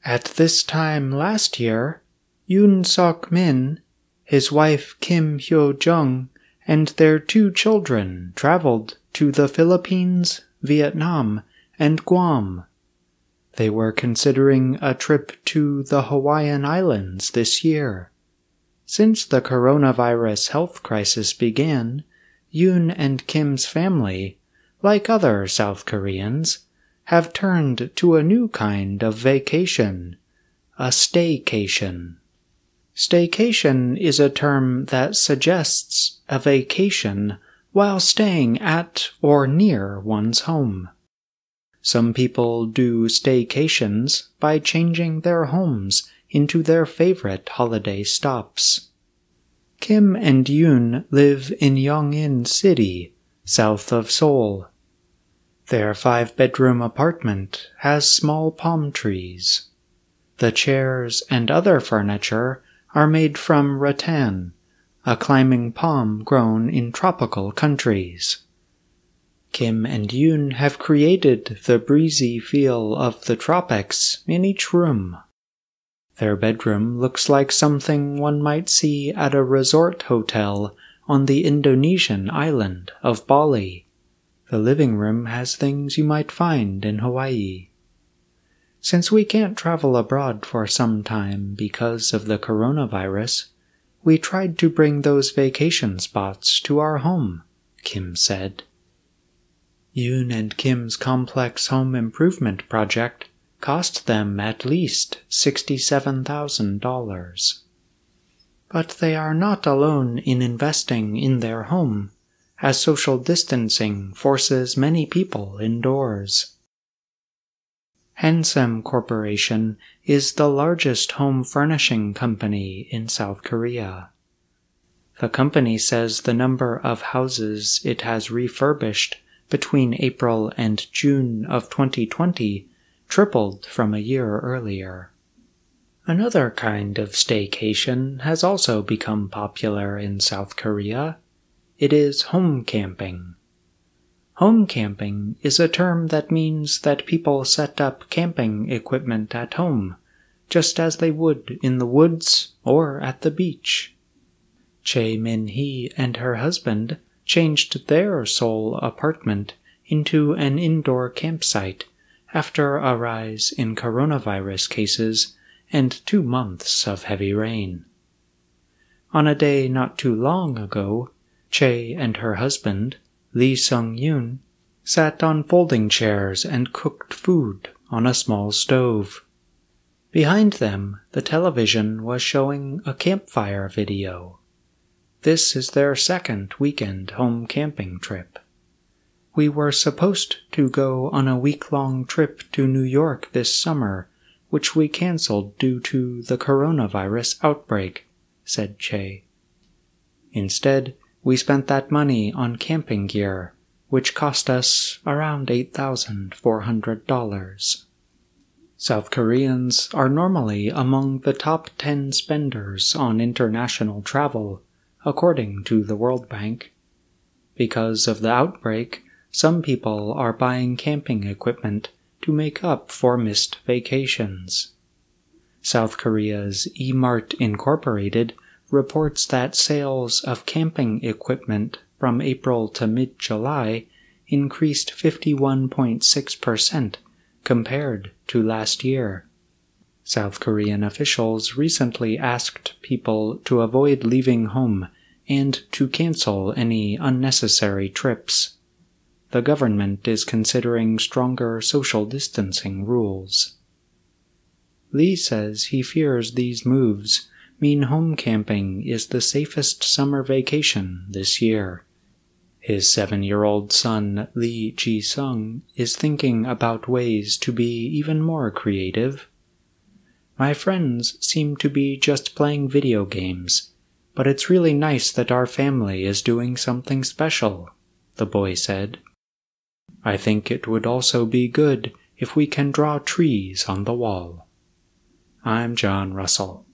At this time last year, Yoon Sok-min, his wife Kim Hyo-jung, and their 2 children traveled to the Philippines, Vietnam, and Guam. They were considering a trip to the Hawaiian Islands this year. Since the coronavirus health crisis began, Yoon and Kim's family, like other South Koreans, have turned to a new kind of vacation, a staycation. Staycation is a term that suggests a vacation while staying at or near one's home. Some people do staycations by changing their homes into their favorite holiday stops. Kim and Yoon live in Yongin City, south of Seoul. Their 5-bedroom apartment has small palm trees. The chairs and other furniture are made from rattan, a climbing palm grown in tropical countries. Kim and Yoon have created the breezy feel of the tropics in each room. Their bedroom looks like something one might see at a resort hotel on the Indonesian island of Bali. The living room has things you might find in Hawaii. Since we can't travel abroad for some time because of the coronavirus, we tried to bring those vacation spots to our home, Kim said. Yoon and Kim's complex home improvement project cost them at least $67,000. But they are not alone in investing in their home, as social distancing forces many people indoors. Hansem Corporation is the largest home furnishing company in South Korea. The company says the number of houses it has refurbished between April and June of 2020 tripled from a year earlier. Another kind of staycation has also become popular in South Korea. It is home camping. Home camping is a term that means that people set up camping equipment at home, just as they would in the woods or at the beach. Chae Min-hee and her husband changed their Seoul apartment into an indoor campsite after a rise in coronavirus cases and 2 months of heavy rain. On a day not too long ago, Chae and her husband, Lee Sung-yoon, sat on folding chairs and cooked food on a small stove. Behind them, the television was showing a campfire video. This is their 2nd weekend home camping trip. We were supposed to go on a week-long trip to New York this summer, which we canceled due to the coronavirus outbreak, said Chae. Instead, we spent that money on camping gear, which cost us around $8,400. South Koreans are normally among the top 10 spenders on international travel, according to the World Bank. Because of the outbreak, some people are buying camping equipment to make up for missed vacations. South Korea's E-Mart Incorporated reports that sales of camping equipment from April to mid-July increased 51.6% compared to last year. South Korean officials recently asked people to avoid leaving home and to cancel any unnecessary trips. The government is considering stronger social distancing rules. Lee says he fears these moves mean home camping is the safest summer vacation this year. His 7-year-old son, Lee Ji-sung, is thinking about ways to be even more creative. My friends seem to be just playing video games, but it's really nice that our family is doing something special, the boy said. I think it would also be good if we can draw trees on the wall. I'm John Russell.